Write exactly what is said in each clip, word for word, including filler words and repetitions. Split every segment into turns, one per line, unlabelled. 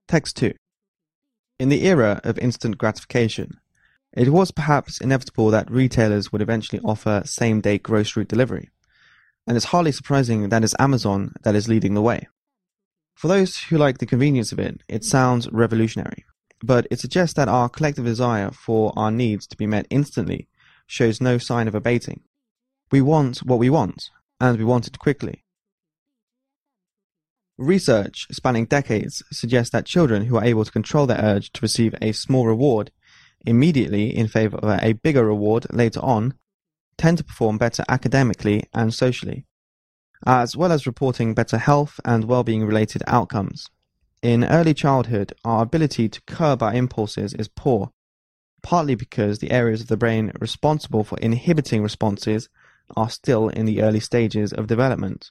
Text two. In the era of instant gratification, it was perhaps inevitable that retailers would eventually offer same-day grocery delivery, and it's hardly surprising that it's Amazon that is leading the way. For those who like the convenience of it, it sounds revolutionary, but it suggests that our collective desire for our needs to be met instantly shows no sign of abating. We want what we want, and we want it quickly. Research spanning decades suggests that children who are able to control their urge to receive a small reward immediately in favor of a bigger reward later on tend to perform better academically and socially, as well as reporting better health and well-being related outcomes. In early childhood, our ability to curb our impulses is poor, partly because the areas of the brain responsible for inhibiting responses are still in the early stages of development.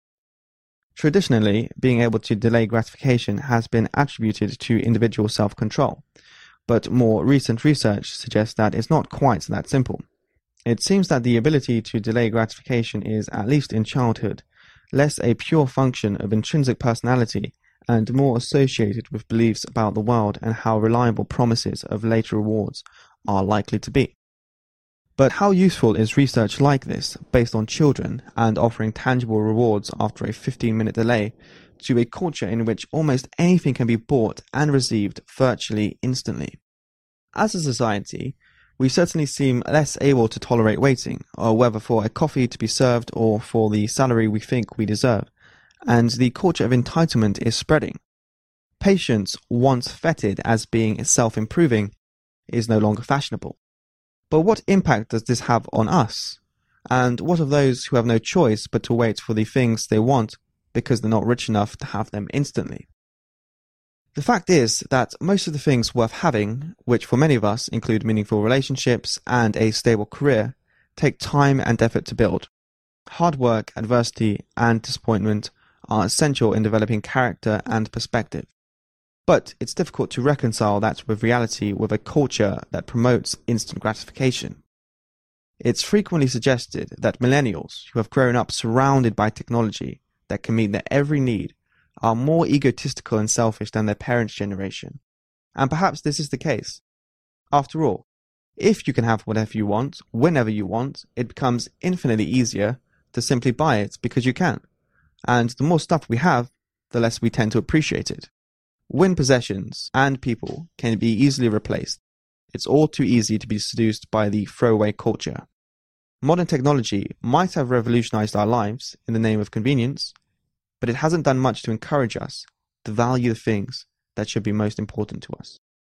Traditionally, being able to delay gratification has been attributed to individual self-control, but more recent research suggests that it's not quite that simple. It seems that the ability to delay gratification is, at least in childhood, less a pure function of intrinsic personality and more associated with beliefs about the world and how reliable promises of later rewards are likely to be. But how useful is research like this, based on children and offering tangible rewards after a fifteen-minute delay, to a culture in which almost anything can be bought and received virtually instantly? As a society, we certainly seem less able to tolerate waiting, or whether for a coffee to be served or for the salary we think we deserve, and the culture of entitlement is spreading. Patience, once feted as being self-improving, is no longer fashionable. But what impact does this have on us? And what of those who have no choice but to wait for the things they want because they're not rich enough to have them instantly? The fact is that most of the things worth having, which for many of us include meaningful relationships and a stable career, take time and effort to build. Hard work, adversity, and disappointment are essential in developing character and perspective. But it's difficult to reconcile that with reality with a culture that promotes instant gratification. It's frequently suggested that millennials, who have grown up surrounded by technology that can meet their every need, are more egotistical and selfish than their parents' generation. And perhaps this is the case. After all, if you can have whatever you want, whenever you want, it becomes infinitely easier to simply buy it because you can. And the more stuff we have, the less we tend to appreciate it. When possessions and people can be easily replaced, it's all too easy to be seduced by the throwaway culture. Modern technology might have revolutionized our lives in the name of convenience, but it hasn't done much to encourage us to value the things that should be most important to us.